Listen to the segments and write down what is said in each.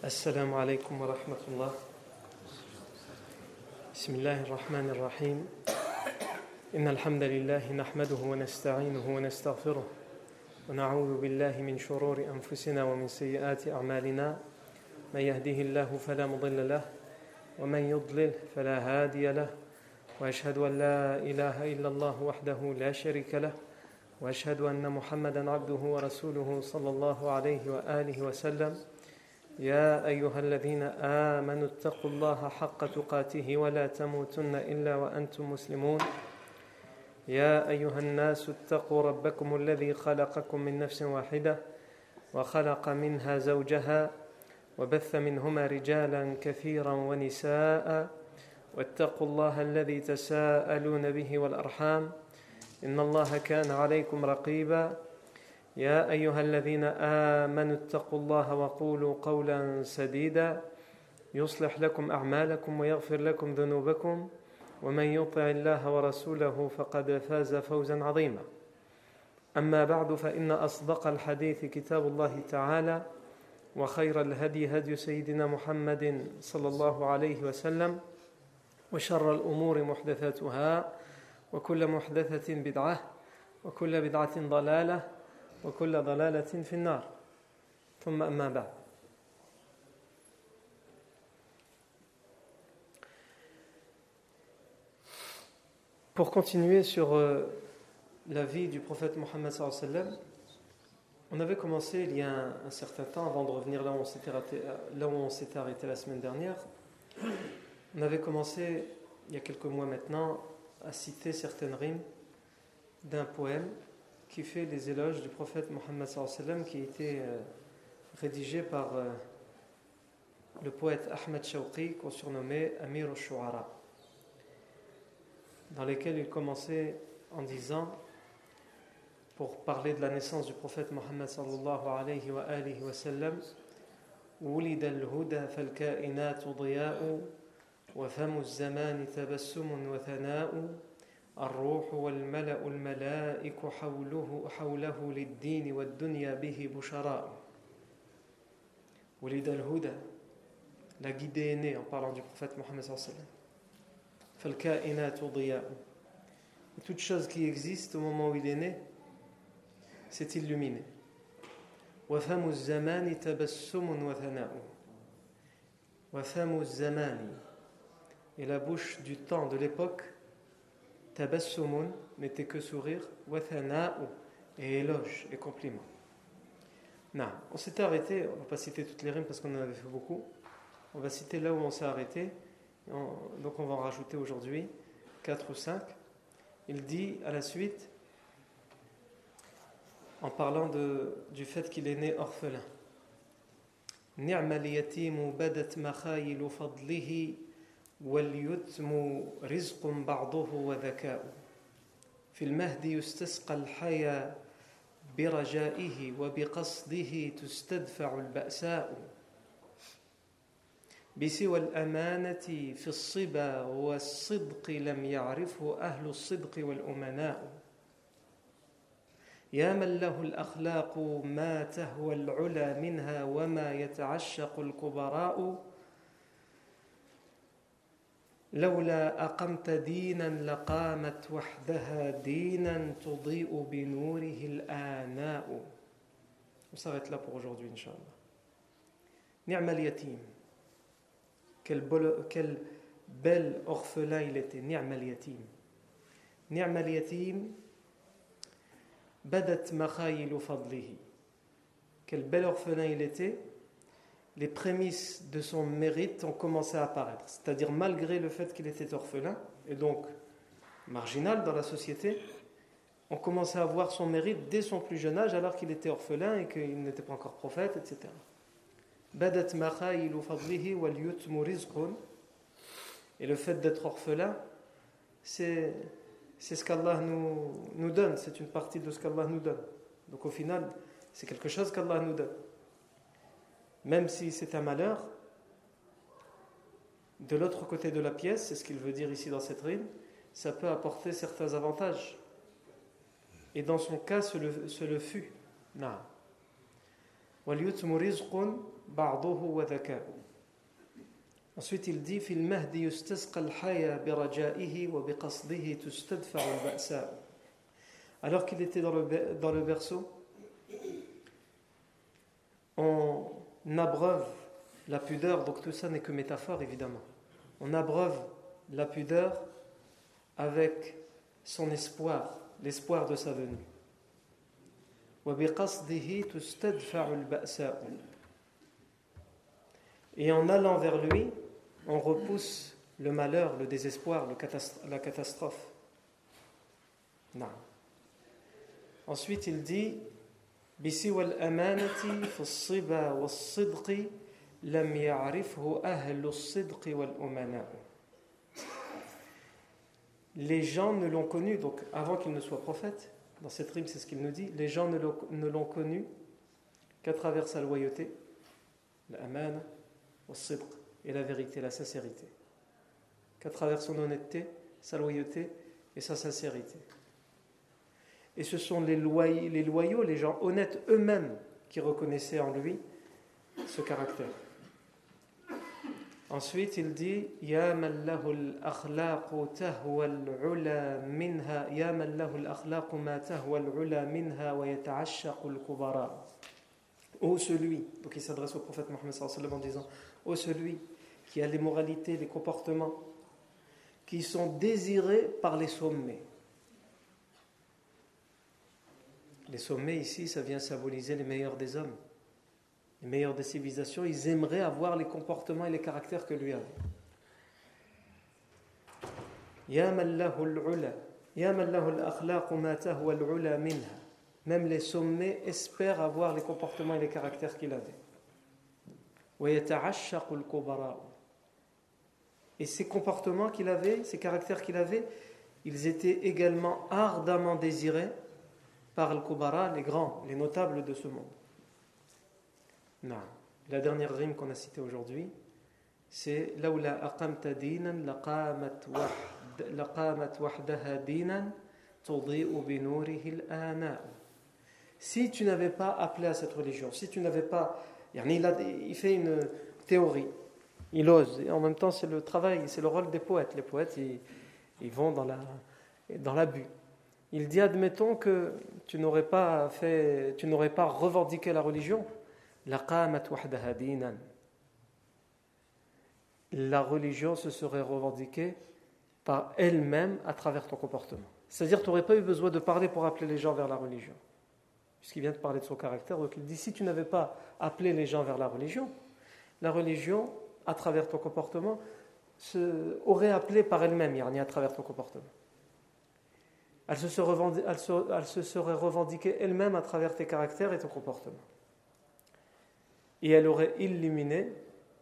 السلام عليكم ورحمة الله. بسم الله الرحمن الرحيم. إن الحمد لله نحمده ونستعينه ونستغفره ونعوذ بالله من شرور أنفسنا ومن سيئات أعمالنا. من يهده الله فلا مضل له ومن يضلل فلا هادي له وأشهد أن لا إله إلا الله وحده لا شريك له وأشهد أن محمدا عبده ورسوله صلى الله عليه وآله وسلم. يا أيها الذين آمنوا اتقوا الله حق تقاته ولا تموتن إلا وأنتم مسلمون. يا أيها الناس اتقوا ربكم الذي خلقكم من نفس واحدة وخلق منها زوجها وبث منهما رجالا كثيرا ونساء واتقوا الله الذي تساءلون به والأرحام إن الله كان عليكم رقيبا. يا أيها الذين آمنوا اتقوا الله وقولوا قولا سديدا يصلح لكم أعمالكم ويغفر لكم ذنوبكم ومن يطع الله ورسوله فقد فاز فوزا عظيما. أما بعد فإن أصدق الحديث كتاب الله تعالى وخير الهدي هدي سيدنا محمد صلى الله عليه وسلم وشر الأمور محدثاتها وكل محدثة بدعة وكل بدعة ضلالة وكل ضلالة في النار. ثم أما بعد. Pour continuer sur la vie du prophète Mohammed sallallahu alayhi wa sallam, on avait commencé il y a un certain temps, avant de revenir là où on s'était arrêté la semaine dernière, on avait commencé il y a quelques mois maintenant à citer certaines rimes d'un poème qui fait les éloges du prophète Mohammed sallallahu alayhi wa sallam, qui a été rédigé par le poète Ahmed Shawqi, qu'on surnommait Amir al-Shu'ara, dans lesquels il commençait en disant, pour parler de la naissance du prophète Mohammed sallallahu alayhi wa alihi wa sallam: ولد الهدى فالكائنات ضياء وفم الزمان تبسم وثناء الروح والملأ الملائك حوله للدين والدنيا به بشراء. ولد الهدى, la guidée est née, en parlant du prophète Mohammed sallallahu alayhi wa sallam. فالكائنات ضياء, et toute chose qui existe au moment où il est né s'est illuminée. وفم الزمان تبسم وثناء, وفم الزمان, et la bouche du temps, de l'époque, tabassumun, n'était que sourire, wa thana'u, et éloge et compliment. Non, on s'était arrêté, on ne va pas citer toutes les rimes parce qu'on en avait fait beaucoup, on va citer là où on s'est arrêté, donc on va en rajouter aujourd'hui 4 ou 5. Il dit à la suite, en parlant du fait qu'il est né orphelin: ni'ma al-yatimu badat makhayilu fadlihi واليتم رزق بعضه وذكاء في المهد يستسقى الحيا برجائه وبقصده تستدفع البأساء بسوى الأمانة في الصبا والصدق لم يعرفه أهل الصدق والأمناء يا من له الأخلاق ما تهوى العلا منها وما يتعشق الكبراء لولا أقمت دينا لقامت وحدها دينا تضيء بنوره الآناء. On s'arrête là pour aujourd'hui, Inch'Allah. Ni'ma al-yatim, quel bel orphelin il était. Ni'ma al-yatim, Ni'ma al-yatim badat makhayilu fadlihi, quel bel orphelin il était. Les prémices de son mérite ont commencé à apparaître. C'est-à-dire, malgré le fait qu'il était orphelin, et donc marginal dans la société, on commençait à voir son mérite dès son plus jeune âge, alors qu'il était orphelin et qu'il n'était pas encore prophète, etc. Badat makhayilu fadlihi wal yutmu rizqun. Et le fait d'être orphelin, c'est ce qu'Allah nous donne, c'est une partie de ce qu'Allah nous donne. Donc au final, c'est quelque chose qu'Allah nous donne. Même si c'est un malheur, de l'autre côté de la pièce, c'est ce qu'il veut dire ici dans cette rime, ça peut apporter certains avantages. Et dans son cas, ce le fut. وَالْيُتْمُ رِزْقٌ بَعْضُهُ وَذَكَاءُ. Ensuite il dit في المهد يستسقى الحياة برجائه وبقصده تستدفع البأساء. Alors qu'il était dans le berceau, on abreuve la pudeur, donc tout ça n'est que métaphore évidemment. On abreuve la pudeur avec son espoir, l'espoir de sa venue. وبقصده تستدفع البأساء. Et en allant vers lui, on repousse le malheur, le désespoir, la catastrophe. Non. Ensuite, il dit بسوى الأمانة في الصبا والصدق لم يعرفه أهل الصدق والأمناء. Les gens ne l'ont connu, donc avant qu'il ne soit prophète, dans cette rime c'est ce qu'il nous dit, les gens ne l'ont connu qu'à travers sa loyauté, l'amana, والصدق, et la vérité, la sincérité. Qu'à travers son honnêteté, sa loyauté et sa sincérité. Et ce sont les loyaux, les gens honnêtes eux-mêmes qui reconnaissaient en lui ce caractère. Ensuite, il dit Ya man lahu al-akhlaqu tahwa al-ula minha ya man lahu al-akhlaqu ma tahwa al-ula minha wa yata'ashshaqu al-kubara. Ô celui, donc il s'adresse au prophète Mohammed sallallahu alayhi wa sallam en disant ô celui qui a les moralités, les comportements qui sont désirés par les sommets. Les sommets ici, ça vient symboliser les meilleurs des hommes, les meilleurs des civilisations. Ils aimeraient avoir les comportements et les caractères que lui avait. Ya man lahu al-ula, ya man lahu al-akhlaq ma tahwa al-ula minha. Même les sommets espèrent avoir les comportements et les caractères qu'il avait. Wa yata'ashshaqu al-kubara. Et ces comportements qu'il avait, ces caractères qu'il avait, ils étaient également ardemment désirés par al-kubara, les grands, les notables de ce monde. Non. La dernière rime qu'on a citée aujourd'hui, c'est Laula aqamta dinan laqamat wahdaha dinan tudhi'u bi nurihi al-ana. Si tu n'avais pas appelé à cette religion, si tu n'avais pas, il fait une théorie, il ose, et en même temps c'est le travail, c'est le rôle des poètes. Les poètes, ils vont dans l'abus. Il dit, admettons que tu n'aurais pas revendiqué la religion, laqamat wahdaha dinan. La religion se serait revendiquée par elle-même à travers ton comportement. C'est-à-dire que tu n'aurais pas eu besoin de parler pour appeler les gens vers la religion. Puisqu'il vient de parler de son caractère, donc il dit, si tu n'avais pas appelé les gens vers la religion, à travers ton comportement, aurait appelé par elle-même, à travers ton comportement. Elle se serait revendiquée elle-même à travers tes caractères et ton comportement. Et elle aurait illuminé,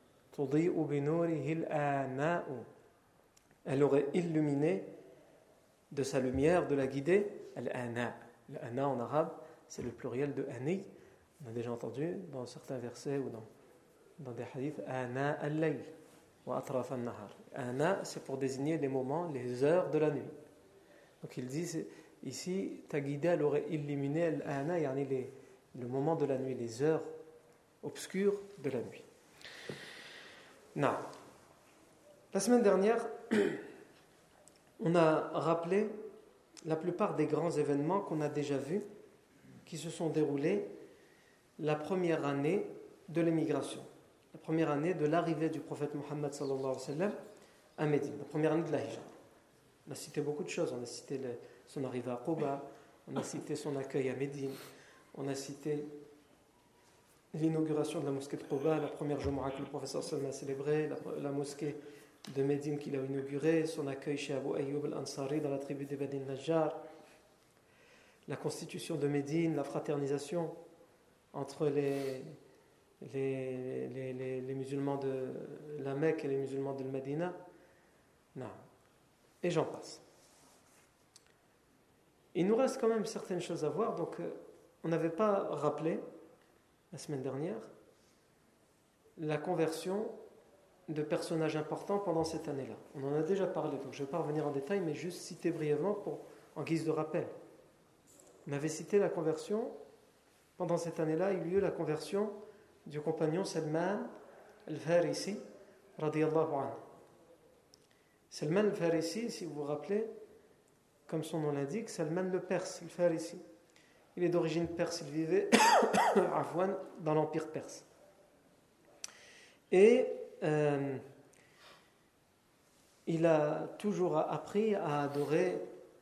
elle aurait illuminé de sa lumière, de la guider, al-ana. Al-ana en arabe, c'est le pluriel de ani. On a déjà entendu dans certains versets ou dans des hadiths, ana al-layl wa atraf al-nahar. Ana, c'est pour désigner les moments, les heures de la nuit. Donc il dit ici, ta guidée, elle aurait illuminé al-ana, le moment de la nuit, les heures obscures de la nuit. Non. La semaine dernière, on a rappelé la plupart des grands événements qu'on a déjà vus, qui se sont déroulés la première année de l'émigration, la première année de l'arrivée du prophète Mohammed sallallahu alayhi wa sallam à Médine, la première année de la Hijra. On a cité beaucoup de choses, on a cité son arrivée à Quba, on a cité son accueil à Médine, on a cité l'inauguration de la mosquée de Quba, la première Jumu'ah que le professeur Salman a célébrée, la mosquée de Médine qu'il a inaugurée, son accueil chez Abu Ayyub al-Ansari dans la tribu des Bani Najjar, la constitution de Médine, la fraternisation entre les musulmans de la Mecque et les musulmans de Médina. Non. Et j'en passe. Il nous reste quand même certaines choses à voir, donc on n'avait pas rappelé la semaine dernière la conversion de personnages importants pendant cette année-là. On en a déjà parlé, donc je ne vais pas revenir en détail, mais juste citer brièvement en guise de rappel. On avait cité la conversion pendant cette année-là, il y eut la conversion du compagnon Salman al-Farisi, radiyallahu anhu. Salman al-Farisi, si vous vous rappelez, comme son nom l'indique, Salman le Perse, al-Farisi. Il est d'origine perse, il vivait à Afwan, dans l'empire perse. Et il a toujours appris à adorer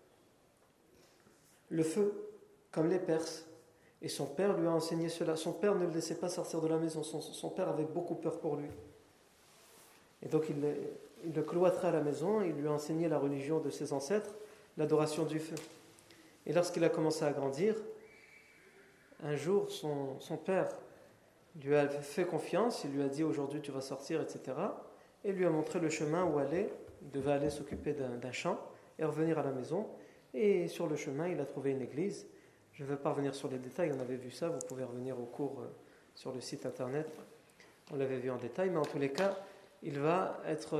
le feu, comme les Perses. Et son père lui a enseigné cela. Son père ne le laissait pas sortir de la maison. Son père avait beaucoup peur pour lui. Et donc il le cloîtrait à la maison. Il lui a enseigné la religion de ses ancêtres, l'adoration du feu. Et lorsqu'il a commencé à grandir, un jour, son père lui a fait confiance. Il lui a dit, aujourd'hui tu vas sortir, etc. Et lui a montré le chemin où aller. Il devait aller s'occuper d'un champ et revenir à la maison. Et sur le chemin, il a trouvé une église. Je ne vais pas revenir sur les détails, on avait vu ça, vous pouvez revenir au cours sur le site internet, on l'avait vu en détail, mais en tous les cas, il va être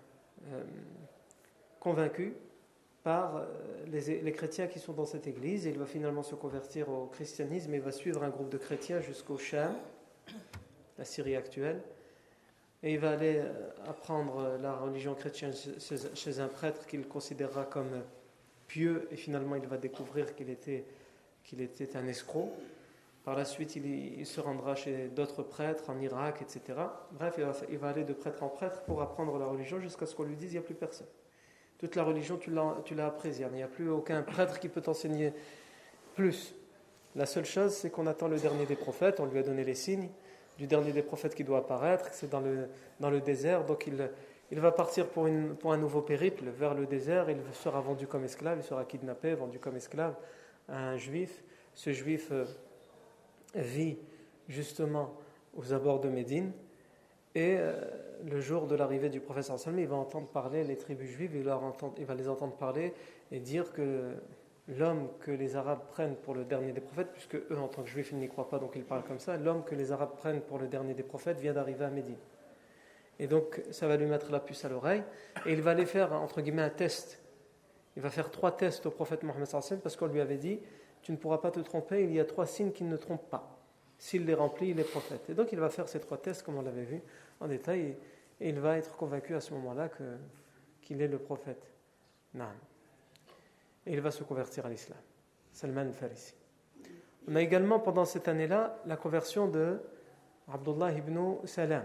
convaincu par les chrétiens qui sont dans cette église, et il va finalement se convertir au christianisme et va suivre un groupe de chrétiens jusqu'au Cham, la Syrie actuelle, et il va aller apprendre la religion chrétienne chez un prêtre qu'il considérera comme pieux, et finalement il va découvrir qu'il était un escroc. Par la suite, il se rendra chez d'autres prêtres en Irak, etc. Bref, il va aller de prêtre en prêtre pour apprendre la religion jusqu'à ce qu'on lui dise il n'y a plus personne. Toute la religion, tu l'as apprise. Il n'y a plus aucun prêtre qui peut t'enseigner plus. La seule chose, c'est qu'on attend le dernier des prophètes. On lui a donné les signes du dernier des prophètes qui doit apparaître. C'est dans le désert. Donc il va partir pour un nouveau périple vers le désert. Il sera vendu comme esclave. Il sera kidnappé, vendu comme esclave à un juif. Ce juif vit justement aux abords de Médine, et le jour de l'arrivée du prophète sallallahu alayhi wa sallam, il va entendre parler les tribus juives, il va les entendre parler et dire que l'homme que les Arabes prennent pour le dernier des prophètes, puisque eux en tant que juifs ils n'y croient pas, donc ils parlent comme ça, l'homme que les Arabes prennent pour le dernier des prophètes vient d'arriver à Médine. Et donc ça va lui mettre la puce à l'oreille, et il va aller faire entre guillemets un test. Il va faire 3 tests au prophète Mohammed sallallahu alayhi wa sallam, parce qu'on lui avait dit: tu ne pourras pas te tromper, il y a 3 signes qui ne trompent pas. S'il les remplit, il est prophète. Et donc il va faire ces 3 tests, comme on l'avait vu en détail, et il va être convaincu à ce moment-là qu'il est le prophète. Naam. Et il va se convertir à l'islam. Salman al-Farisi. On a également pendant cette année-là la conversion de Abdullah ibn Salam.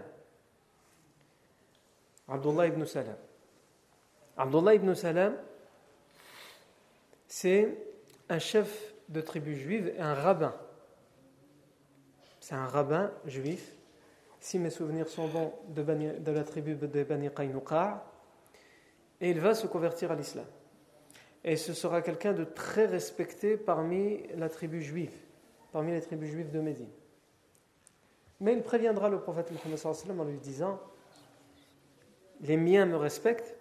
Abdullah ibn Salam. Abdullah ibn Salam, c'est un chef de tribu juive et un rabbin. C'est un rabbin juif, si mes souvenirs sont bons, de la tribu de Bani Qaynuqa', et il va se convertir à l'islam. Et ce sera quelqu'un de très respecté parmi la tribu juive, parmi les tribus juives de Médine. Mais il préviendra le prophète Mohammed sallallahu alayhi wa sallam en lui disant: les miens me respectent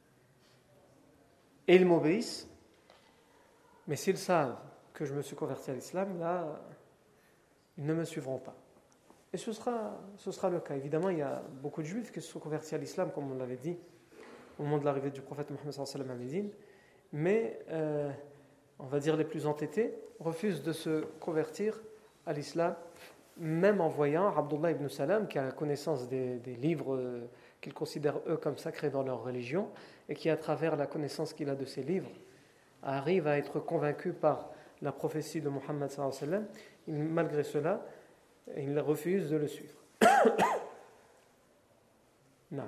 et ils m'obéissent, mais s'ils savent que je me suis converti à l'islam, là, ils ne me suivront pas. Et ce sera le cas. Évidemment, il y a beaucoup de juifs qui se sont convertis à l'islam, comme on l'avait dit, au moment de l'arrivée du prophète Mohammed sallallahu alayhi wa sallam à Médine, mais on va dire les plus entêtés refusent de se convertir à l'islam, même en voyant Abdullah ibn Salam, qui a la connaissance des livres qu'ils considèrent eux comme sacrés dans leur religion, et qui, à travers la connaissance qu'il a de ces livres, arrive à être convaincu par la prophétie de Mohammed sallallahu alayhi wa sallam. Malgré cela, il refuse de le suivre. Non.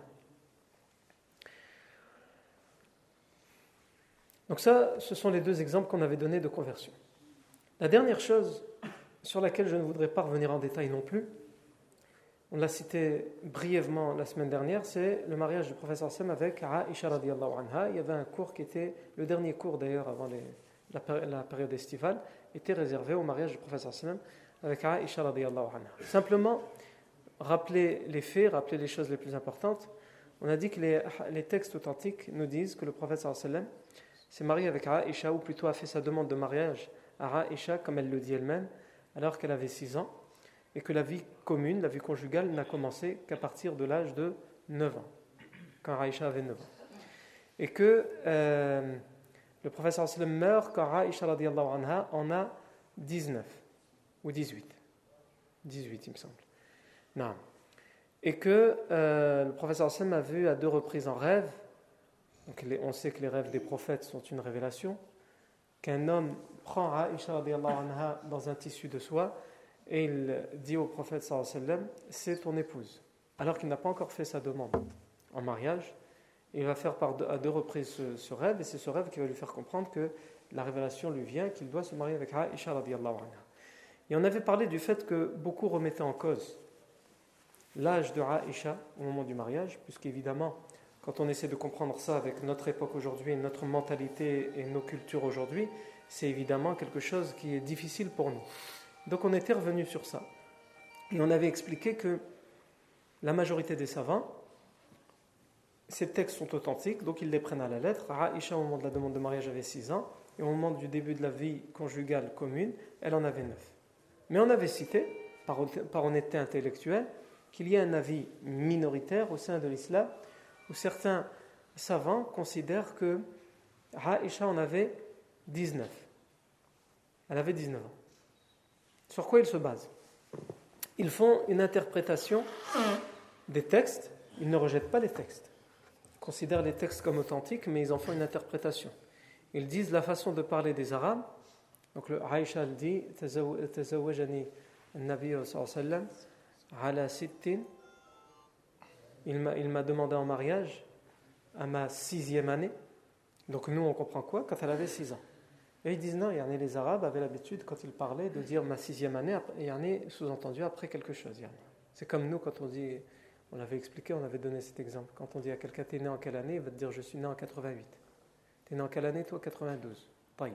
Donc ça, ce sont les 2 exemples qu'on avait donnés de conversion. La dernière chose sur laquelle je ne voudrais pas revenir en détail non plus, on l'a cité brièvement la semaine dernière, c'est le mariage du prophète sallallahu alayhi wa sallam avec Aïcha radiyallahu anha. Il y avait un cours qui était, le dernier cours d'ailleurs avant la période estivale, était réservé au mariage du prophète sallallahu alayhi wa sallam avec Aïcha radiyallahu anha. Simplement, rappeler les faits, rappeler les choses les plus importantes. On a dit que les textes authentiques nous disent que le prophète sallallahu alayhi wa sallam s'est marié avec Aïcha, ou plutôt a fait sa demande de mariage à Aïcha, comme elle le dit elle-même, alors qu'elle avait 6 ans, et que la vie commune, la vie conjugale, n'a commencé qu'à partir de l'âge de 9 ans, quand Aïcha avait 9 ans. Et que le prophète sallallahu alayhi wa sallam meurt quand Aïcha radiyallahu anha en a 19, ou 18. 18, il me semble. Non. Et que le professeur Hassan a vu à 2 reprises en rêve, donc on sait que les rêves des prophètes sont une révélation, qu'un homme prend Aïcha radiyallahu anha dans un tissu de soie et il dit au prophète sallallahu alayhi wa sallam, c'est ton épouse, alors qu'il n'a pas encore fait sa demande en mariage. Il va faire à 2 reprises ce rêve, et c'est ce rêve qui va lui faire comprendre que la révélation lui vient, qu'il doit se marier avec Aïcha radiyallahu anha. Et on avait parlé du fait que beaucoup remettaient en cause l'âge de Aïcha au moment du mariage, puisqu'évidemment, quand on essaie de comprendre ça avec notre époque aujourd'hui, notre mentalité et nos cultures aujourd'hui, c'est évidemment quelque chose qui est difficile pour nous. Donc on était revenu sur ça. Et on avait expliqué que la majorité des savants, ces textes sont authentiques, donc ils les prennent à la lettre. Aïcha, au moment de la demande de mariage, avait 6 ans, et au moment du début de la vie conjugale commune, elle en avait 9. Mais on avait cité, par honnêteté intellectuelle, qu'il y a un avis minoritaire au sein de l'islam, où certains savants considèrent que Aïcha en avait 19. Elle avait 19 ans. Sur quoi ils se basent? Ils font une interprétation des textes, ils ne rejettent pas les textes. Ils considèrent les textes comme authentiques, mais ils en font une interprétation. Ils disent la façon de parler des Arabes. Donc Aïcha elle dit Tazawwajani an-Nabi sallallahu alayhi wa sallam ala sittin. Il m'a demandé en mariage à ma 6e année. Donc nous on comprend quoi? Quand elle avait 6 ans. Et ils disent non, les Arabes avaient l'habitude quand ils parlaient de dire ma 6e année, et sous-entendu après quelque chose. C'est comme nous quand on dit, on l'avait expliqué, on avait donné cet exemple. Quand on dit à quelqu'un t'es né en quelle année, il va te dire je suis né en 88. T'es né en quelle année toi? 92. Taïb.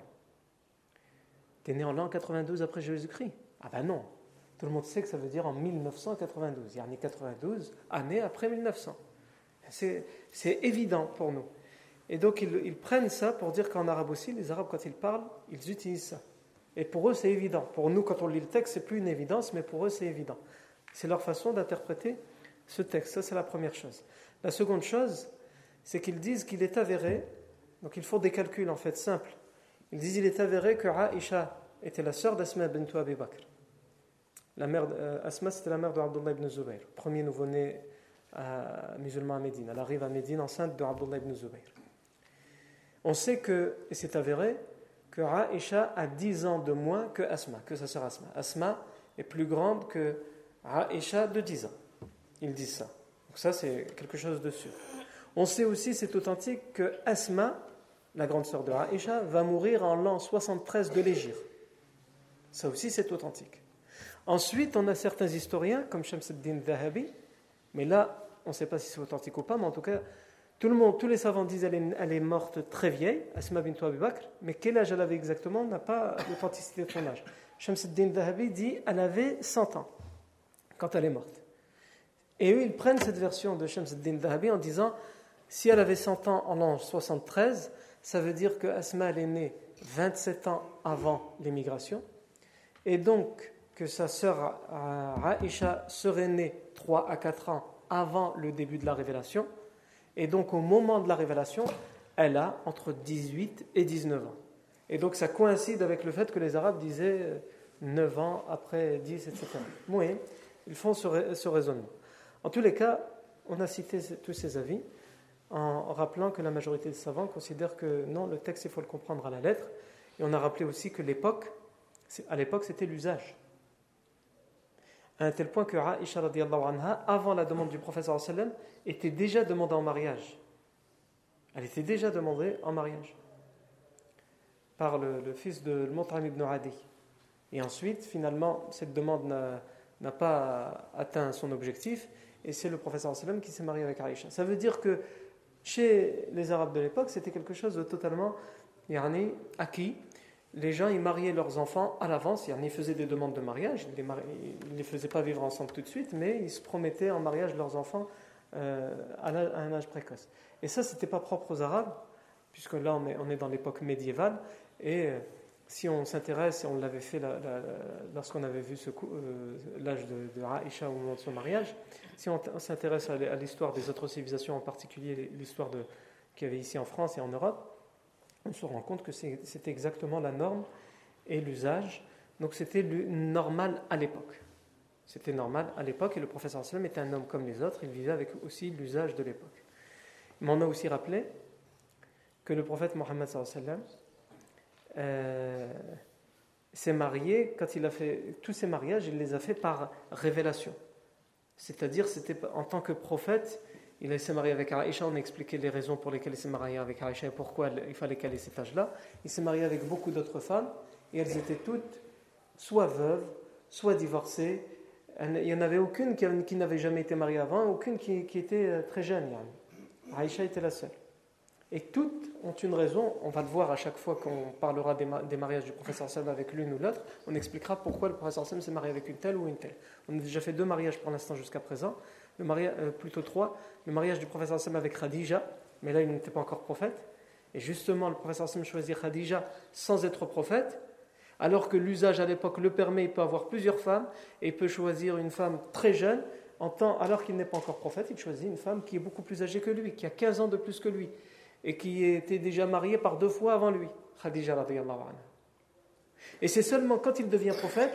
T'es né en l'an 92 après Jésus-Christ? Ah ben non. Tout le monde sait que ça veut dire en 1992. 92 années après 1900. C'est évident pour nous. Et donc ils prennent ça pour dire qu'en arabe aussi, les Arabes quand ils parlent, ils utilisent ça. Et pour eux c'est évident. Pour nous quand on lit le texte, c'est plus une évidence, mais pour eux c'est évident. C'est leur façon d'interpréter ce texte. Ça c'est la première chose. La seconde chose, c'est qu'ils disent qu'il est avéré, donc ils font des calculs en fait simples. Ils disent qu'il est avéré que Aïcha était la sœur d'Asma bint Abi Bakr. Asma c'était la mère de Abdullah ibn Zubayr, premier nouveau-né musulman à Médine. Elle arrive à Médine enceinte de Abdullah ibn Zubayr. On sait que, et c'est avéré, que Aïcha a 10 ans de moins que Asma, que sa sœur Asma. Asma est plus grande que Aïcha de 10 ans. Ils disent ça. Donc ça, c'est quelque chose de sûr. On sait aussi, c'est authentique, que Asma, la grande sœur de Aïcha, va mourir en l'an 73 de l'Hégire. Ça aussi, c'est authentique. Ensuite, on a certains historiens, comme Shams ad-Din Dhahabi, mais là, on ne sait pas si c'est authentique ou pas, mais en tout cas, tous les savants disent qu'elle est morte très vieille, Asma bint Abi Bakr, mais quel âge elle avait exactement, on n'a pas l'authenticité de son âge. Shams ad-Din Dhahabi dit qu'elle avait 100 ans quand elle est morte. Et eux, ils prennent cette version de Shams ad-Din Dhahabi en disant si elle avait 100 ans en l'an 73, ça veut dire que Asma elle est née 27 ans avant l'émigration, et donc que sa sœur Aïcha serait née 3 à 4 ans avant le début de la révélation. Et donc, au moment de la révélation, elle a entre 18 et 19 ans. Et donc, ça coïncide avec le fait que les Arabes disaient 9 ans après 10, etc. Oui, ils font ce raisonnement. En tous les cas, on a cité tous ces avis en rappelant que la majorité des savants considèrent que non, le texte, il faut le comprendre à la lettre. Et on a rappelé aussi que à l'époque, c'était l'usage. À un tel point que Aïcha radiyallahu anha, avant la demande du prophète sallallahu alayhi wa sallam, était déjà demandée en mariage. Elle était déjà demandée en mariage par le fils de Mut'im ibn Adi. Et ensuite, finalement, cette demande n'a pas atteint son objectif, et c'est le prophète sallallahu alayhi wa sallam qui s'est marié avec Aïcha. Ça veut dire que chez les Arabes de l'époque, c'était quelque chose de totalement acquis. Les gens, ils mariaient leurs enfants à l'avance, ils faisaient des demandes de mariage, ils ne les faisaient pas vivre ensemble tout de suite, mais ils se promettaient en mariage leurs enfants à un âge précoce. Et ça, ce n'était pas propre aux Arabes, puisque là, on est dans l'époque médiévale, et si on s'intéresse, et on l'avait fait lorsqu'on avait vu l'âge de Aïcha au moment de son mariage, si on s'intéresse à l'histoire des autres civilisations, en particulier l'histoire qu'il y avait ici en France et en Europe, on se rend compte que c'est exactement la norme et l'usage Donc c'était normal à l'époque. C'était normal à l'époque, et le prophète sallallahu alayhi wa sallam était un homme comme les autres, il vivait avec aussi l'usage de l'époque. Mais on a aussi rappelé que le prophète Mohammed sallallahu alayhi wa sallam s'est marié, quand il a fait tous ses mariages, il les a fait par révélation. C'est-à-dire, c'était en tant que prophète, il s'est marié avec Aïcha, on a expliqué les raisons pour lesquelles il s'est marié avec Aïcha et pourquoi il fallait qu'elle ait cet âge-là. Il s'est marié avec beaucoup d'autres femmes, et elles étaient toutes soit veuves, soit divorcées. Il n'y en avait aucune qui n'avait jamais été mariée avant, aucune qui était très jeune. Aïcha était la seule. Et toutes ont une raison, on va le voir à chaque fois qu'on parlera des mariages du prophète sallallahu alayhi wa sallam avec l'une ou l'autre, on expliquera pourquoi le prophète sallallahu alayhi wa sallam s'est marié avec une telle ou une telle. On a déjà fait 2 mariages pour l'instant jusqu'à présent, plutôt 3. Le mariage du prophète sallallahu alayhi wa sallam avec Khadija, mais là il n'était pas encore prophète. Et justement, le prophète sallallahu alayhi wa sallam choisit Khadija sans être prophète, alors que l'usage à l'époque le permet, il peut avoir plusieurs femmes, et il peut choisir une femme très jeune, alors qu'il n'est pas encore prophète, il choisit une femme qui est beaucoup plus âgée que lui, qui a 15 ans de plus que lui, et qui était déjà mariée par 2 fois avant lui, Khadija radiyallahu anha. Et c'est seulement quand il devient prophète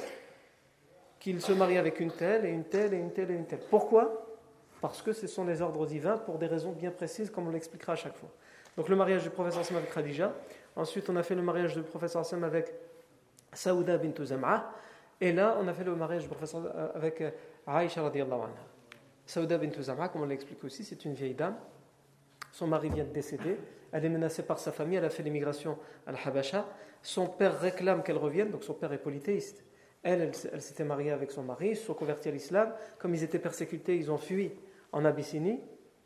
qu'il se marie avec une telle, et une telle, et une telle, et une telle. Pourquoi ? Parce que ce sont les ordres divins pour des raisons bien précises, comme on l'expliquera à chaque fois. Donc le mariage du prophète sallallahu alayhi wa sallam avec Khadija. Ensuite, on a fait le mariage du prophète sallallahu alayhi wa sallam avec Saouda bint Zam'a. Et là, on a fait le mariage du prophète avec Aïcha radiyallahu anha. Saouda bint Zam'a, comme on l'explique aussi, c'est une vieille dame. Son mari vient de décéder. Elle est menacée par sa famille. Elle a fait l'immigration à l'Habasha. Son père réclame qu'elle revienne. Donc son père est polythéiste. Elle s'était mariée avec son mari. Ils se sont convertis à l'islam. Comme ils étaient persécutés, ils ont fui en Abyssinie.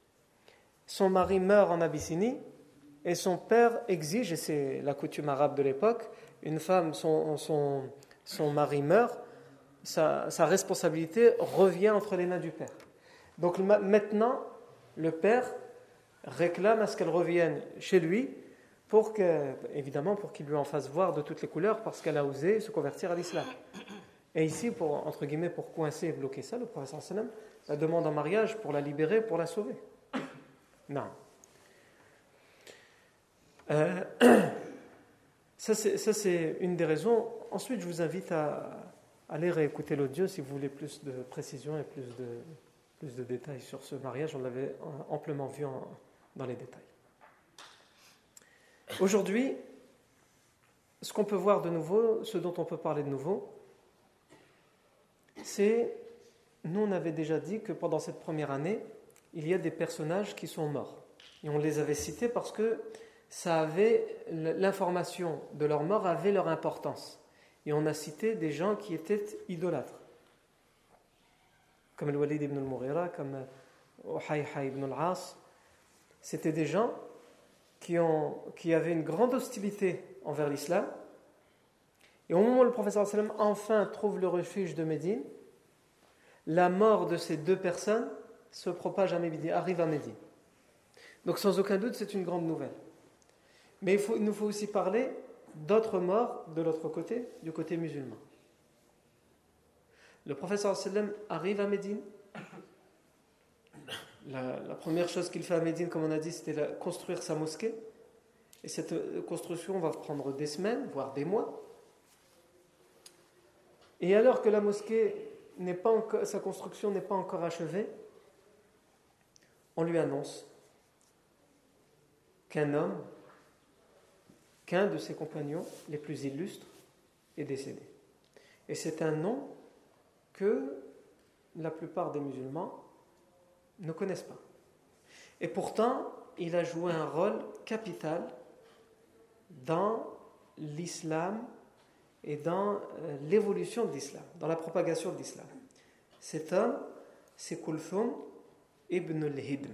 Son mari meurt en Abyssinie. Et son père exige, et c'est la coutume arabe de l'époque, une femme, son mari meurt, sa responsabilité revient entre les mains du père. Donc maintenant, le père réclame à ce qu'elle revienne chez lui, évidemment pour qu'il lui en fasse voir de toutes les couleurs, parce qu'elle a osé se convertir à l'islam. Et ici, entre guillemets, pour coincer et bloquer ça, le prophète sallallahu alayhi wa sallam la demande en mariage pour la libérer, pour la sauver. Non. Ça c'est une des raisons. Ensuite, je vous invite à aller réécouter l'audio si vous voulez plus de précision et plus de détails sur ce mariage. On l'avait amplement vu dans les détails. Aujourd'hui, ce qu'on peut voir de nouveau, ce dont on peut parler de nouveau, c'est, nous on avait déjà dit que pendant cette première année, il y a des personnages qui sont morts. Et on les avait cités parce que l'information de leur mort avait leur importance. Et on a cité des gens qui étaient idolâtres. Comme Al-Walid ibn al-Mughira, comme Uhayha ibn al-As. C'était des gens qui avaient une grande hostilité envers l'islam. Et au moment où le prophète sallallahu alayhi wa sallam enfin trouve le refuge de Médine, la mort de ces 2 personnes se propage à Médine, arrive à Médine. Donc sans aucun doute, c'est une grande nouvelle. Mais il nous faut aussi parler d'autres morts de l'autre côté, du côté musulman. Le prophète sallallahu alayhi wa sallam arrive à Médine. La première chose qu'il fait à Médine, comme on a dit, c'était construire sa mosquée. Et cette construction va prendre des semaines, voire des mois. Et alors que la mosquée sa construction n'est pas encore achevée, on lui annonce qu'un de ses compagnons les plus illustres est décédé. Et c'est un nom que la plupart des musulmans ne connaissent pas. Et pourtant, il a joué un rôle capital dans l'islam et dans l'évolution de l'islam, dans la propagation de l'islam. Cet homme, c'est Kulthum ibn al-Hidm.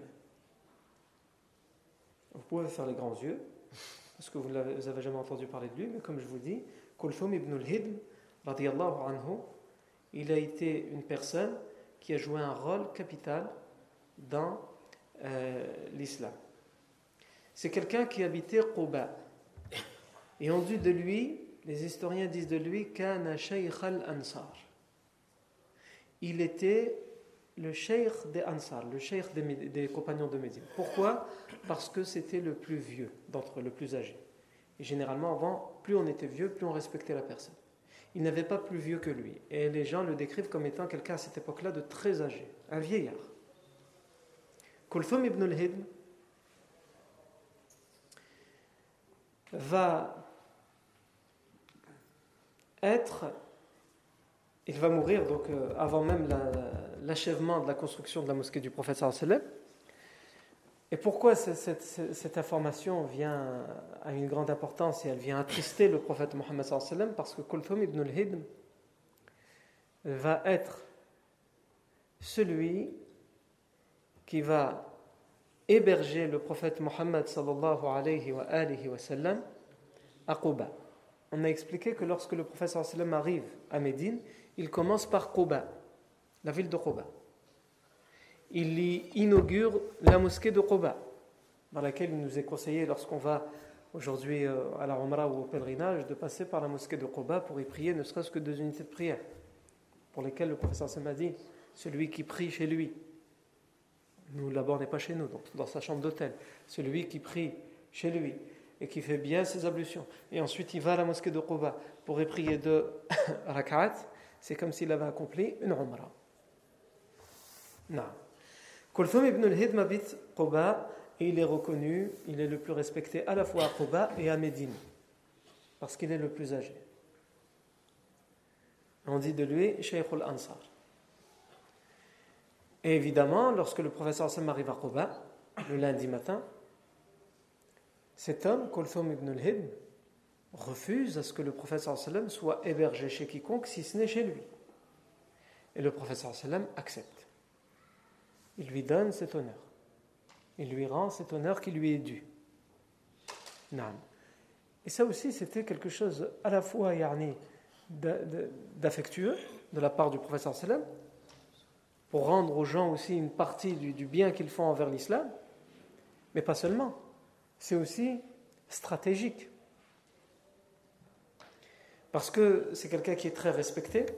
Vous pouvez faire les grands yeux, parce que vous n'avez jamais entendu parler de lui, mais comme je vous dis, Kulthum ibn al-Hidm, radiyallahu anhu, il a été une personne qui a joué un rôle capital dans l'islam. C'est quelqu'un qui habitait Quba. Et on dit de lui, les historiens disent de lui, Kana shaykh al-Ansar. Il était le cheikh des Ansar, le cheikh des compagnons de Médine. Pourquoi ? Parce que c'était le plus vieux d'entre eux, le plus âgé. Et généralement, avant, plus on était vieux, plus on respectait la personne. il n'avait pas plus vieux que lui. Et les gens le décrivent comme étant quelqu'un à cette époque-là de très âgé, un vieillard. Kulthum ibn al-Hidm il va mourir donc avant même l'achèvement de la construction de la mosquée du prophète sallallahu alayhi wa sallam. Et pourquoi cette information vient à une grande importance et elle vient attrister le prophète Mohammed sallallahu alayhi wa sallam? Parce que Kulthum ibn al-Hidm va être celui qui va héberger le prophète Mohammed sallallahu alayhi wa sallam à Quba. On a expliqué que lorsque le prophète sallallahu alayhi wa sallam arrive à Médine, il commence par Quba, la ville de Quba. Il y inaugure la mosquée de Quba, dans laquelle il nous est conseillé, lorsqu'on va aujourd'hui à la Umrah ou au pèlerinage, de passer par la mosquée de Quba pour y prier, ne serait-ce que 2 unités de prière, pour lesquelles le prophète sallallahu alayhi wa sallam a dit, celui qui prie chez lui, nous là-bas on n'est pas chez nous, donc dans sa chambre d'hôtel, celui qui prie chez lui et qui fait bien ses ablutions, et ensuite il va à la mosquée de Quba pour y prier 2 rak'at, c'est comme s'il avait accompli une Umrah. Non. Kulthum ibn al-Hidm habite Quba et il est reconnu, il est le plus respecté à la fois à Quba et à Médine, parce qu'il est le plus âgé. On dit de lui Shaykh al-Ansar. Et évidemment, lorsque le professeur Sam arrive à Quba, le lundi matin, cet homme, Kulthum ibn al-Hidm, refuse à ce que le professeur sallam soit hébergé chez quiconque, si ce n'est chez lui. Et le professeur sallam accepte. Il lui donne cet honneur. Il lui rend cet honneur qui lui est dû. Naam. Et ça aussi, c'était quelque chose à la fois d'affectueux de la part du professeur sallam, pour rendre aux gens aussi une partie du bien qu'ils font envers l'islam, mais pas seulement. C'est aussi stratégique. Parce que c'est quelqu'un qui est très respecté.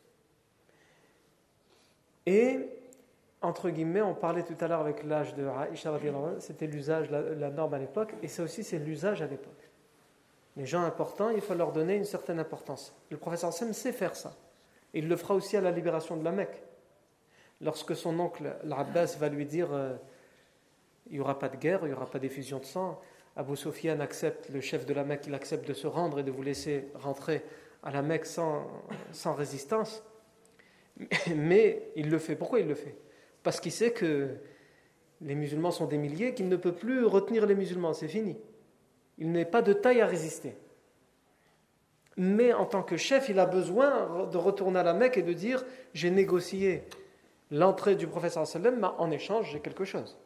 Et, entre guillemets, on parlait tout à l'heure avec l'âge de Aïcha, c'était l'usage, la norme à l'époque, et ça aussi c'est l'usage à l'époque. Les gens importants, il faut leur donner une certaine importance. Le professeur Sam sait faire ça. Il le fera aussi à la libération de la Mecque. Lorsque son oncle, l'Abbas, va lui dire il n'y aura pas de guerre, il n'y aura pas d'effusion de sang, Abu Sufyan accepte, le chef de la Mecque, il accepte de se rendre et de vous laisser rentrer à la Mecque sans résistance. Mais il le fait. Pourquoi il le fait? Parce qu'il sait que les musulmans sont des milliers, qu'il ne peut plus retenir les musulmans, c'est fini. Il n'est pas de taille à résister. Mais en tant que chef, il a besoin de retourner à la Mecque et de dire j'ai négocié l'entrée du prophète sallallahu alayhi wa sallam, en échange j'ai quelque chose.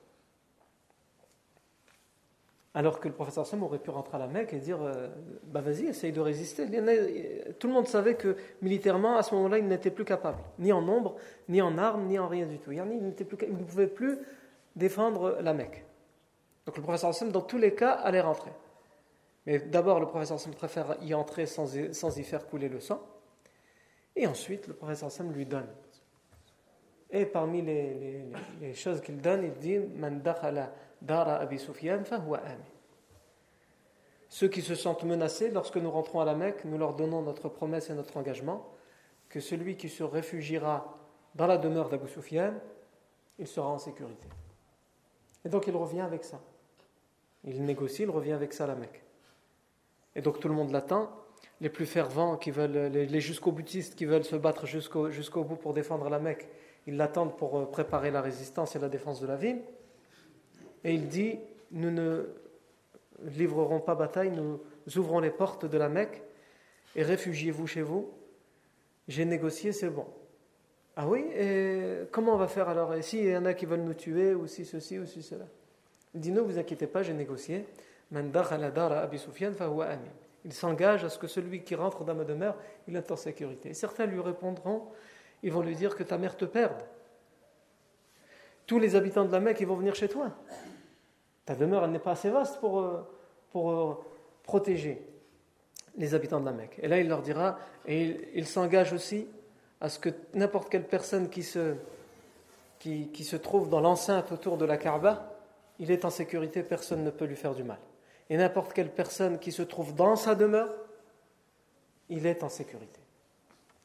Alors que le prophète sallallahu aurait pu rentrer à la Mecque et dire vas-y, essaye de résister. Tout le monde savait que militairement, à ce moment-là, il n'était plus capable, ni en nombre, ni en armes, ni en rien du tout. Il ne pouvait plus défendre la Mecque. Donc le prophète sallallahu dans tous les cas, allait rentrer. Mais d'abord, le prophète sallallahu préfère y entrer sans y faire couler le sang. Et ensuite, le prophète sallallahu lui donne. Et parmi les choses qu'il donne, il dit Man dakhala dara Abi Sufyan fahuwa amin. Ceux qui se sentent menacés, lorsque nous rentrons à la Mecque, nous leur donnons notre promesse et notre engagement que celui qui se réfugiera dans la demeure d'Abu Sufyan, il sera en sécurité. Et donc il revient avec ça. Il négocie, il revient avec ça à la Mecque. Et donc tout le monde l'attend. Les plus fervents, qui veulent, les jusqu'au-boutistes qui veulent se battre jusqu'au bout pour défendre la Mecque, ils l'attendent pour préparer la résistance et la défense de la ville. Et il dit, nous ne livrerons pas bataille, nous ouvrons les portes de la Mecque et réfugiez-vous chez vous. J'ai négocié, c'est bon. Ah oui, et comment on va faire alors? Et s'il y en a qui veulent nous tuer, ou si ceci, ou si cela? Il dit, ne vous inquiétez pas, j'ai négocié. Man dakhala dara Abi Sufyan fahuwa amin. Il s'engage à ce que celui qui rentre dans ma demeure, il est en sécurité. Et certains lui répondront, ils vont lui dire que ta mère te perde. Tous les habitants de la Mecque, ils vont venir chez toi. Ta demeure, elle n'est pas assez vaste pour protéger les habitants de la Mecque. Et là, il leur dira, et il s'engage aussi à ce que n'importe quelle personne qui se trouve dans l'enceinte autour de la Kaaba, il est en sécurité, personne ne peut lui faire du mal. Et n'importe quelle personne qui se trouve dans sa demeure, il est en sécurité.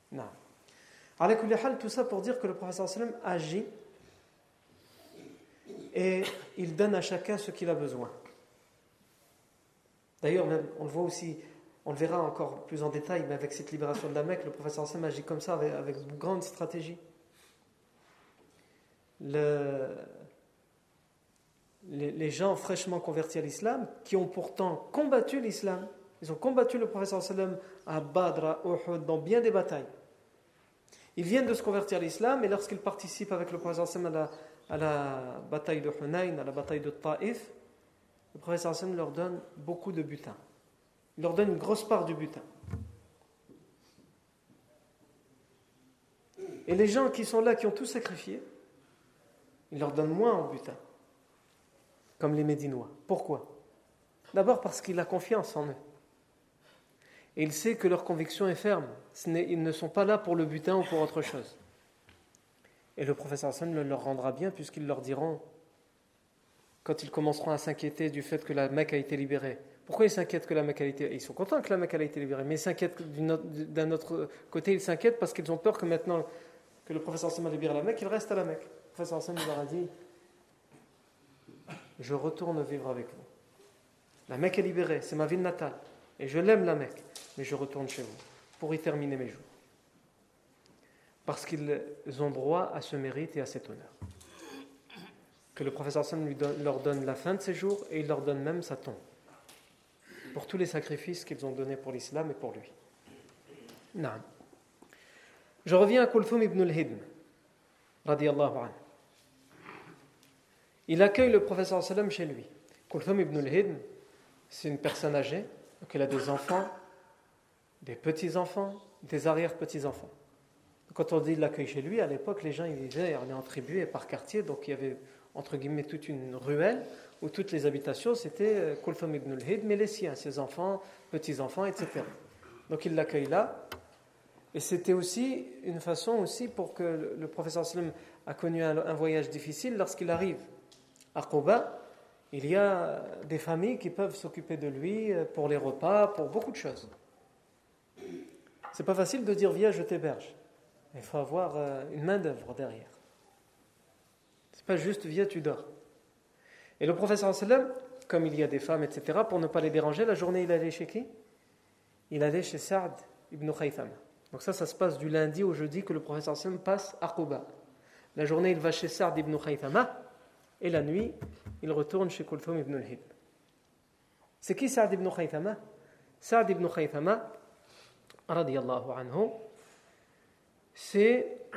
Non. Ala kulli hal, tout ça pour dire que le prophète sallam agit et il donne à chacun ce qu'il a besoin. D'ailleurs, même, on le voit aussi, on le verra encore plus en détail, mais avec cette libération de la Mecque, le prophète sallam agit comme ça avec une grande stratégie. Les gens fraîchement convertis à l'islam, qui ont pourtant combattu l'islam, ils ont combattu le prophète sallam à Badr, à Uhud, dans bien des batailles. Ils viennent de se convertir à l'islam, et lorsqu'ils participent avec le prophète sallam à la bataille de Hunayn, à la bataille de Taïf, le prophète sallam leur donne beaucoup de butin. Il leur donne une grosse part du butin. Et les gens qui sont là, qui ont tout sacrifié, il leur donne moins en butin. Comme les Médinois. Pourquoi? D'abord parce qu'il a confiance en eux. Et il sait que leur conviction est ferme. Ils ne sont pas là pour le butin ou pour autre chose. Et le professeur Hassan le leur rendra bien puisqu'ils leur diront, quand ils commenceront à s'inquiéter du fait que la Mecque a été libérée. Pourquoi ils s'inquiètent que la Mecque a été libérée? Ils sont contents que la Mecque a été libérée, mais ils s'inquiètent d'un autre côté, ils s'inquiètent parce qu'ils ont peur que maintenant que le professeur Hassan a libéré la Mecque, il reste à la Mecque. Le professeur Hassan leur a dit, je retourne vivre avec vous. La Mecque est libérée, c'est ma ville natale. Et je l'aime la Mecque, mais je retourne chez vous pour y terminer mes jours. Parce qu'ils ont droit à ce mérite et à cet honneur. Que le professeur Hassan leur donne la fin de ses jours et il leur donne même sa tombe. Pour tous les sacrifices qu'ils ont donnés pour l'islam et pour lui. Naam. Je reviens à Kulthum ibn al-Hidm, radiyallahu anhu. Il accueille le professeur sallam chez lui. Kulthum ibn al-Hidm, c'est une personne âgée, donc il a des enfants, des petits-enfants, des arrière-petits-enfants. Quand on dit il l'accueille chez lui, à l'époque, les gens ils vivaient en tribu et par quartier, donc il y avait entre guillemets toute une ruelle où toutes les habitations c'était Kulthum ibn al-Hidm et les siens, ses enfants, petits-enfants, etc. Donc il l'accueille là. Et c'était aussi une façon aussi pour que le professeur sallam a connu un voyage difficile lorsqu'il arrive à Quba, il y a des familles qui peuvent s'occuper de lui pour les repas, pour beaucoup de choses. C'est pas facile de dire viens je t'héberge. Il faut avoir une main d'œuvre derrière. C'est pas juste viens tu dors. Et le professeur sallam, comme il y a des femmes etc., pour ne pas les déranger, la journée il allait chez qui? Il allait chez Sa'd ibn Khaythama. Donc ça se passe du lundi au jeudi que le professeur sallam passe à Quba. La journée il va chez Sa'd ibn Khaythama. Et la nuit, il retourne chez Kulthum ibn al-Hidm. C'est qui Sa'd ibn Khaythama? Sa'd ibn Khaythama, radiyallahu anhu, c'est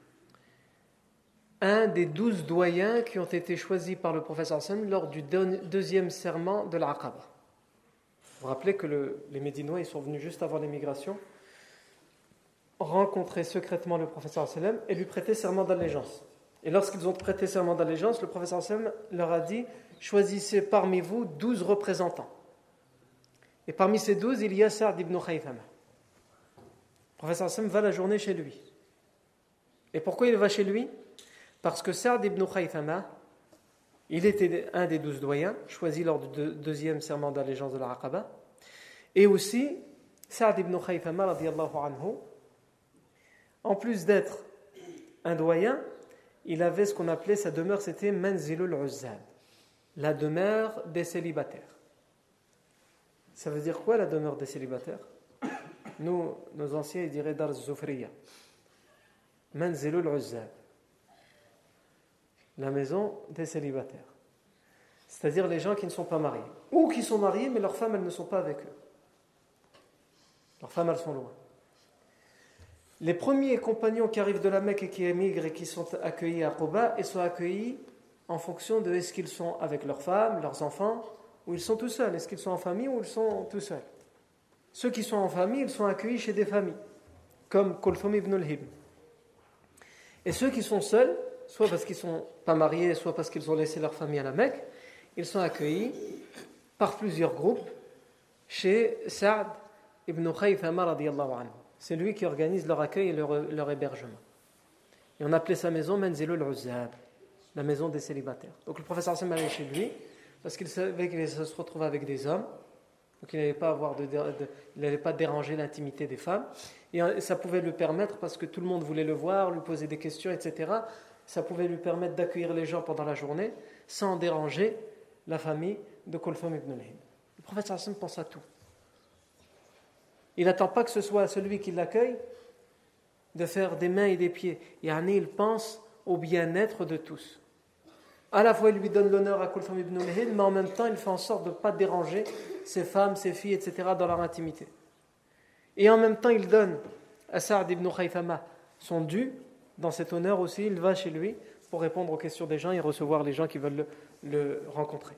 un des 12 doyens qui ont été choisis par le professeur sallam lors du deuxième serment de l'Aqaba. Vous vous rappelez que les Médinois ils sont venus juste avant l'émigration, rencontrer secrètement le professeur sallam et lui prêter serment d'allégeance. Et lorsqu'ils ont prêté serment d'allégeance, le professeur sallam leur a dit « Choisissez parmi vous 12 représentants. » Et parmi ces 12, il y a Sa'd ibn Khaythama. Le professeur sallam va la journée chez lui. Et pourquoi il va chez lui? Parce que Sa'd ibn Khaythama, il était un des 12 doyens, choisi lors du deuxième serment d'allégeance de l'Aqaba. Et aussi, Sa'd ibn Khaythama, radiyallahu anhu, en plus d'être un doyen, il avait ce qu'on appelait sa demeure, c'était Manzilul Uzzab, la demeure des célibataires. Ça veut dire quoi la demeure des célibataires? Nous, nos anciens, ils diraient Dar Zufriya. Manzilul Uzzab, la maison des célibataires. C'est-à-dire les gens qui ne sont pas mariés. Ou qui sont mariés, mais leurs femmes, elles ne sont pas avec eux. Leurs femmes, elles sont loin. Les premiers compagnons qui arrivent de la Mecque et qui émigrent et qui sont accueillis à Quba, ils sont accueillis en fonction de est-ce qu'ils sont avec leurs femmes, leurs enfants, ou ils sont tout seuls. Est-ce qu'ils sont en famille ou ils sont tout seuls? Ceux qui sont en famille, ils sont accueillis chez des familles, comme Kulthum ibn al-Hidm. Et ceux qui sont seuls, soit parce qu'ils ne sont pas mariés, soit parce qu'ils ont laissé leur famille à la Mecque, ils sont accueillis par plusieurs groupes chez Sa'd ibn Khaythama radiyallahu anhu. C'est lui qui organise leur accueil et leur hébergement. Et on appelait sa maison Manzilul Uzzab, la maison des célibataires. Donc le professeur Hassan allait chez lui parce qu'il savait qu'il se retrouvait avec des hommes. Donc il n'allait pas déranger l'intimité des femmes. Et ça pouvait lui permettre, parce que tout le monde voulait le voir, lui poser des questions, etc., ça pouvait lui permettre d'accueillir les gens pendant la journée sans déranger la famille de Kulthum ibn al-Hind. Le prophète sallallahu alayhi wa sallam pense à tout. Il n'attend pas que ce soit celui qui l'accueille de faire des mains et des pieds. Il pense au bien-être de tous. À la fois, il lui donne l'honneur à Kulthum ibn al-Hind, mais en même temps, il fait en sorte de ne pas déranger ses femmes, ses filles, etc., dans leur intimité. Et en même temps, il donne à Sa'd ibn Khaythama son dû. Dans cet honneur aussi, il va chez lui pour répondre aux questions des gens et recevoir les gens qui veulent le rencontrer.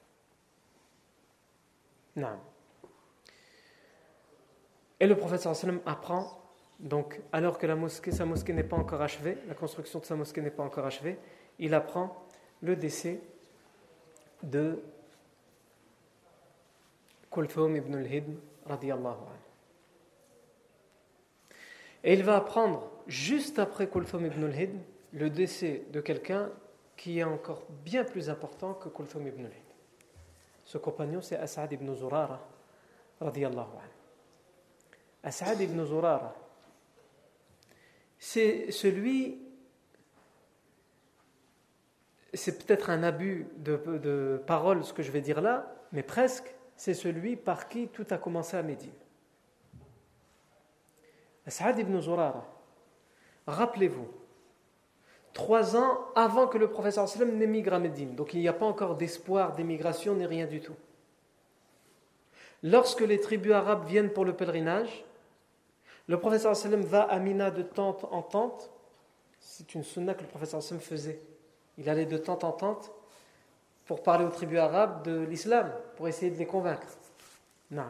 Non. Et le prophète sallallahu alayhi wa sallam apprend, donc, alors que sa mosquée n'est pas encore achevée, la construction de sa mosquée n'est pas encore achevée, il apprend le décès de Kulthum ibn al-Hind radiyallahu anhu. Et il va apprendre, juste après Kulthum ibn al-Hind, le décès de quelqu'un qui est encore bien plus important que Kulthum ibn al-Hind. Ce compagnon, c'est As'ad ibn Zurara, radiyallahu anhu. As'ad ibn Zurara, c'est peut-être un abus de parole ce que je vais dire là, mais presque, c'est celui par qui tout a commencé à Médine. As'ad ibn Zurara, rappelez-vous, 3 ans avant que le prophète sallallahu alayhi wa sallam n'émigre à Médine, donc il n'y a pas encore d'espoir d'émigration ni rien du tout. Lorsque les tribus arabes viennent pour le pèlerinage, le prophète sallallahu alayhi wa sallam va à Mina de tente en tente. C'est une sunna que le prophète sallallahu alayhi wa sallam faisait. Il allait de tente en tente pour parler aux tribus arabes de l'islam, pour essayer de les convaincre. Non.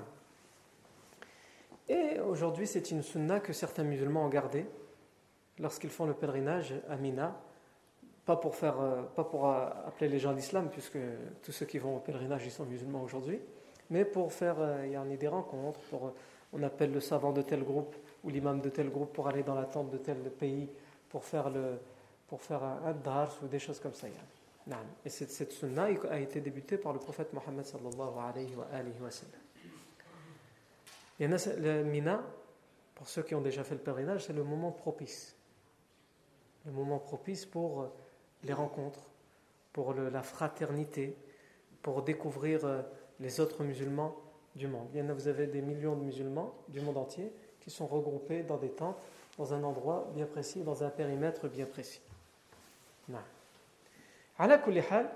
Et aujourd'hui, c'est une sunna que certains musulmans ont gardée lorsqu'ils font le pèlerinage à Mina, pas pour appeler les gens à l'islam, puisque tous ceux qui vont au pèlerinage ils sont musulmans aujourd'hui, mais pour faire des rencontres, on appelle le savant de tel groupe ou l'imam de tel groupe pour aller dans la tente de tel pays pour faire un dars ou des choses comme ça. Et cette sunna a été débutée par le prophète Mohammed sallallahu alayhi wa sallam. Et le Mina, pour ceux qui ont déjà fait le pèlerinage, c'est le moment propice. Le moment propice pour les rencontres, pour la fraternité, pour découvrir les autres musulmans du monde. Vous avez des millions de musulmans du monde entier qui sont regroupés dans des tentes, dans un endroit bien précis, dans un périmètre bien précis. Ala kulli hal,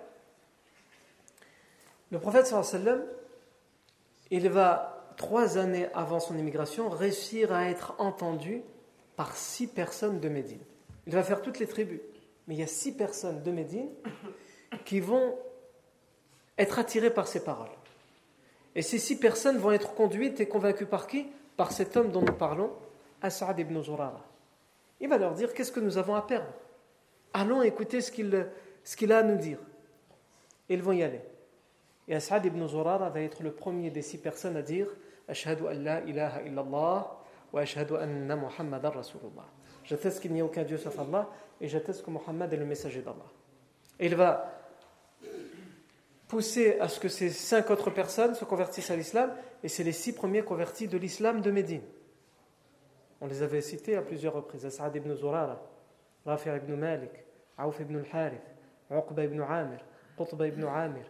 le prophète sallallahu alayhi wa sallam, il va 3 années avant son immigration réussir à être entendu par 6 personnes de Médine. Il va faire toutes les tribus, mais il y a 6 personnes de Médine qui vont être attirées par ses paroles. Et ces 6 personnes vont être conduites et convaincues par qui ? Par cet homme dont nous parlons, As'ad ibn Zurara. Il va leur dire, qu'est-ce que nous avons à perdre ? Allons écouter ce qu'il a à nous dire. Et ils vont y aller. Et As'ad ibn Zurara va être le premier des 6 personnes à dire Ashhadu an la ilaha illallah wa ashhadu anna Muhammadan Rasulullah. J'atteste qu'il n'y a aucun Dieu sauf Allah et j'atteste que Muhammad est le messager d'Allah. Et il va pousser à ce que ces 5 autres personnes se convertissent à l'islam, et c'est les 6 premiers convertis de l'islam de Médine. On les avait cités à plusieurs reprises. As'ad ibn Zurara, Rafi' ibn Malik, Auf ibn al-Harith, Uqba ibn Amir, Qutba ibn Amir,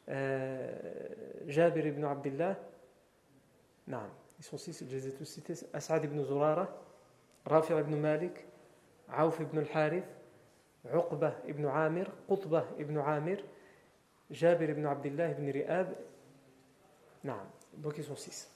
Jabir ibn Abdullah. Non, ils sont 6, je les ai tous cités. As'ad ibn Zurara, Rafi' ibn Malik, Auf ibn al-Harith, Uqba ibn Amir, Qutba ibn Amir, Jabir ibn Abdullah ibn Ri'ab. Non, donc ils sont 6.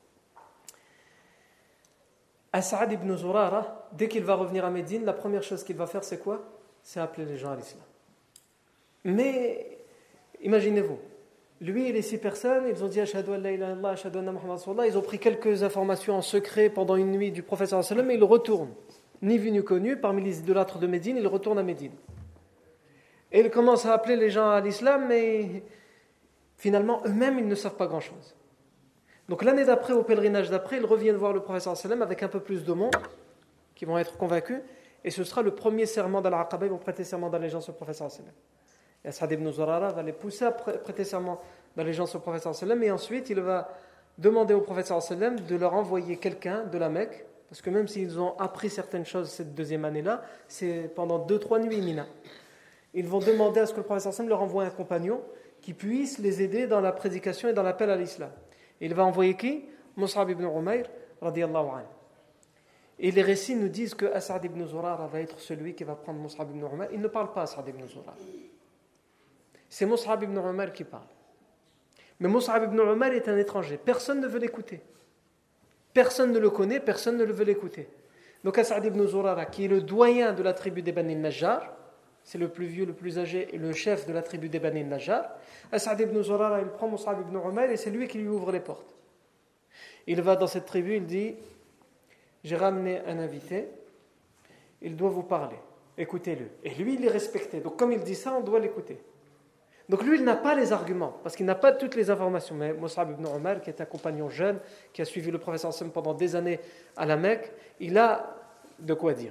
As'ad ibn Zurara, dès qu'il va revenir à Médine, la première chose qu'il va faire, c'est quoi ? C'est appeler les gens à l'islam. Mais imaginez-vous, lui et les 6 personnes, ils ont dit Ashhadu an la ilaha illallah, Ashhadu anna Muhammadan Rasulullah. Ils ont pris quelques informations en secret pendant une nuit du prophète sallallahu alayhi wa sallam, et ils retournent. Ni vu ni connu, parmi les idolâtres de Médine, ils retournent à Médine. Et ils commencent à appeler les gens à l'islam, mais finalement, eux-mêmes, ils ne savent pas grand-chose. Donc l'année d'après, au pèlerinage d'après, ils reviennent voir le prophète sallallahu alayhi wa sallam avec un peu plus de monde, qui vont être convaincus, et ce sera le premier serment d'Al-Aqaba, ils vont prêter serment d'allégeance au prophète sallallahu alayhi wa sallam. Et As'ad ibn Zurara va les pousser à prêter serment d'allégeance au prophète sallallahu alayhi wa sallam, et ensuite il va demander au prophète sallallahu alayhi wa sallam de leur envoyer quelqu'un de la Mecque, parce que même s'ils ont appris certaines choses cette deuxième année-là, c'est pendant 2-3 nuits Mina. Ils vont demander à ce que le prophète sallallahu alayhi wa sallam leur envoie un compagnon qui puisse les aider dans la prédication et dans l'appel à l'islam. Et il va envoyer qui? Mus'ab ibn Umayr, radiyallahu anhu. Et les récits nous disent que As'ad ibn Zurara va être celui qui va prendre Mus'ab ibn Umayr. Il ne parle pas As'ad ibn Zurara. C'est Mus'ab ibn Umayr qui parle. Mais Mus'ab ibn Umayr est un étranger. Personne ne veut l'écouter. Personne ne le connaît, personne ne le veut l'écouter. Donc As'ad ibn Zurara, qui est le doyen de la tribu des Bani Najjar, c'est le plus vieux, le plus âgé et le chef de la tribu des Bani Najjar. As'ad ibn Zurara, il prend Mus'ab ibn Umayr et c'est lui qui lui ouvre les portes. Il va dans cette tribu, il dit: j'ai ramené un invité, il doit vous parler, écoutez-le. Et lui, il est respecté. Donc comme il dit ça, on doit l'écouter. Donc lui, il n'a pas les arguments, parce qu'il n'a pas toutes les informations. Mais Mus'ab ibn Umayr, qui est un compagnon jeune, qui a suivi le prophète sallallahu alayhi wa sallam pendant des années à la Mecque, il a de quoi dire.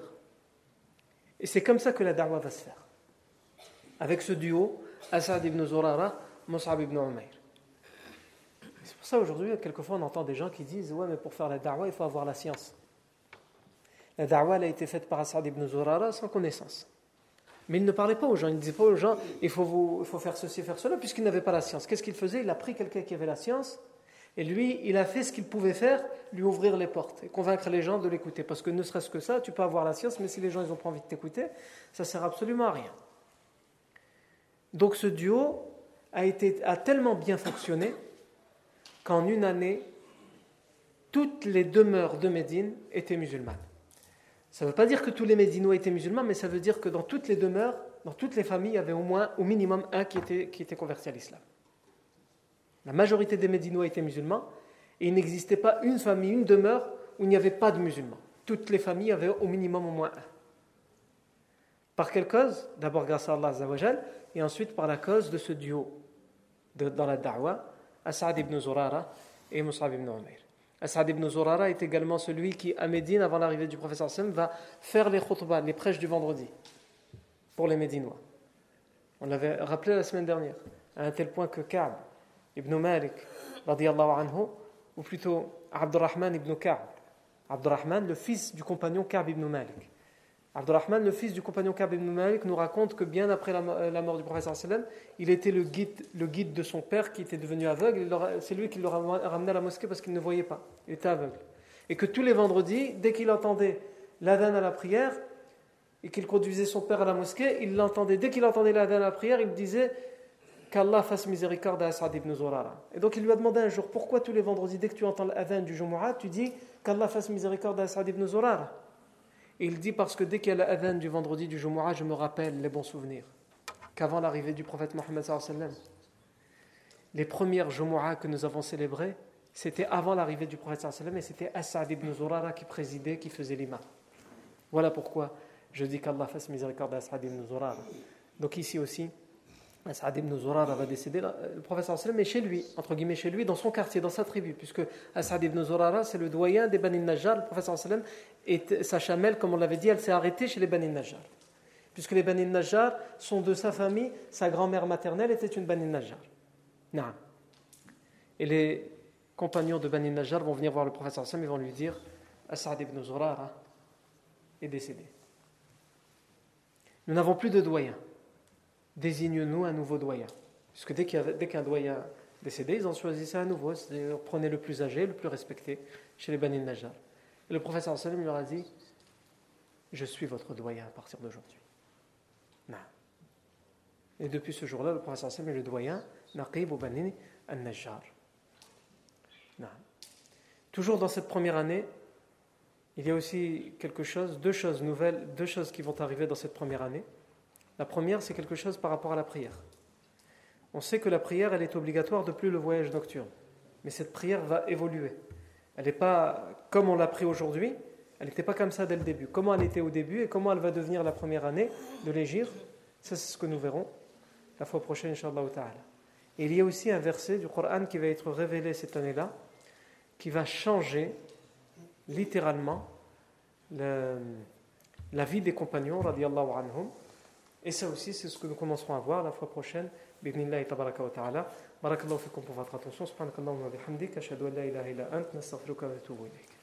Et c'est comme ça que la da'wah va se faire. Avec ce duo, As'ad ibn Zurara, Mus'ab ibn Umayr. C'est pour ça aujourd'hui, quelquefois, on entend des gens qui disent: ouais, mais pour faire la da'wah, il faut avoir la science. La da'wah, elle a été faite par As'ad ibn Zurara sans connaissance. Mais il ne parlait pas aux gens, il ne disait pas aux gens: il faut faire ceci, faire cela, puisqu'il n'avait pas la science. Qu'est-ce qu'il faisait? Il a pris quelqu'un qui avait la science, et lui, il a fait ce qu'il pouvait faire, lui ouvrir les portes, et convaincre les gens de l'écouter. Parce que ne serait-ce que ça, tu peux avoir la science, mais si les gens n'ont pas envie de t'écouter, ça ne sert absolument à rien. Donc ce duo a tellement bien fonctionné qu'en une année, toutes les demeures de Médine étaient musulmanes. Ça ne veut pas dire que tous les Médinois étaient musulmans, mais ça veut dire que dans toutes les demeures, dans toutes les familles, il y avait au minimum un qui était converti à l'islam. La majorité des Médinois étaient musulmans, et il n'existait pas une famille, une demeure où il n'y avait pas de musulmans. Toutes les familles avaient au minimum au moins un. Par quelle cause? D'abord grâce à Allah Azza wa Jal, et ensuite par la cause de ce duo dans la da'wah, As'ad ibn Zurara et Mus'ab ibn Umayr. As'ad ibn Zurara est également celui qui, à Médine, avant l'arrivée du prophète sallallahu alayhi wa sallam, va faire les khutbahs, les prêches du vendredi, pour les Médinois. On l'avait rappelé la semaine dernière, à un tel point que Ka'b ibn Malik, radiyallahu anhu, ou plutôt Abdurrahman ibn Ka'b, Abdurrahman, le fils du compagnon Ka'b ibn Malik. Abdurrahman, le fils du compagnon Ka'b ibn Malik, nous raconte que bien après la mort du prophète sallallahu alayhi wa sallam, il était le guide de son père qui était devenu aveugle. C'est lui qui l'a ramené à la mosquée parce qu'il ne voyait pas. Il était aveugle. Et que tous les vendredis, dès qu'il entendait l'adhan à la prière et qu'il conduisait son père à la mosquée, il l'entendait. Dès qu'il entendait l'adhan à la prière, il disait qu'Allah fasse miséricorde à As'ad ibn Zurara. Et donc il lui a demandé un jour: pourquoi tous les vendredis, dès que tu entends l'adhan du Jumu'ah, tu dis qu'Allah fasse miséricorde à As'ad ibn Zurara? Et il dit: parce que dès qu'il y a l'adhan du vendredi du Jumu'ah, je me rappelle les bons souvenirs qu'avant l'arrivée du prophète Mohammed sallallahu alayhi wa sallam, les premières Jumu'ah que nous avons célébrées, c'était avant l'arrivée du prophète sallallahu alayhi wa sallam, et c'était As'ad ibn Zurara qui présidait, qui faisait l'imam. Voilà pourquoi je dis qu'Allah fasse miséricorde à As'ad ibn Zurara. Donc ici aussi, As'ad ibn Zurara va décéder. Le prophète sallallahu alayhi wa sallam est chez lui, entre guillemets chez lui, dans son quartier, dans sa tribu, puisque As'ad ibn Zurara, c'est le doyen des Bani Najjar. Le prophète sallallahu alayhi wa sallam, et sa chamelle, comme on l'avait dit, elle s'est arrêtée chez les Bani Najjar. Puisque les Bani Najjar sont de sa famille, sa grand-mère maternelle était une Bani Najjar. Naam. Et les compagnons de Bani Najjar vont venir voir le prophète sallallahu alayhi wa sallam et vont lui dire: As'ad ibn Zurara est décédé. Nous n'avons plus de doyen. Désigne-nous un nouveau doyen. Puisque dès qu'un doyen décédé, ils en choisissaient un nouveau. C'est-à-dire, prenez le plus âgé, le plus respecté chez les Bani Najjar. Et le prophète sallallahu alayhi wa sallam leur a dit: je suis votre doyen à partir d'aujourd'hui. Non. Et depuis ce jour-là, le prophète sallallahu alayhi wa sallam est le doyen, Naqib ou Bani al-Najjar. Non. Toujours dans cette première année, il y a aussi deux choses nouvelles, deux choses qui vont arriver dans cette première année. La première, c'est quelque chose par rapport à la prière. On sait que la prière, elle est obligatoire depuis le voyage nocturne. Mais cette prière va évoluer. Elle n'est pas comme on l'a pris aujourd'hui, elle n'était pas comme ça dès le début. Comment elle était au début et comment elle va devenir la première année de l'Hégire, ça c'est ce que nous verrons la fois prochaine, Inch'Allah ta'ala. Et il y a aussi un verset du Coran qui va être révélé cette année-là, qui va changer littéralement la vie des compagnons, radiyallahu anhum, Et ça aussi, c'est ce que nous commencerons à voir la fois prochaine. Bidnillahi tabaraka wa ta'ala. Barakallahu fikum pour votre attention. Subhanakallahumma wa bihamdik. Ashhadu an la ilaha illa ant. Nastaghfiruka wa natubu ilayk.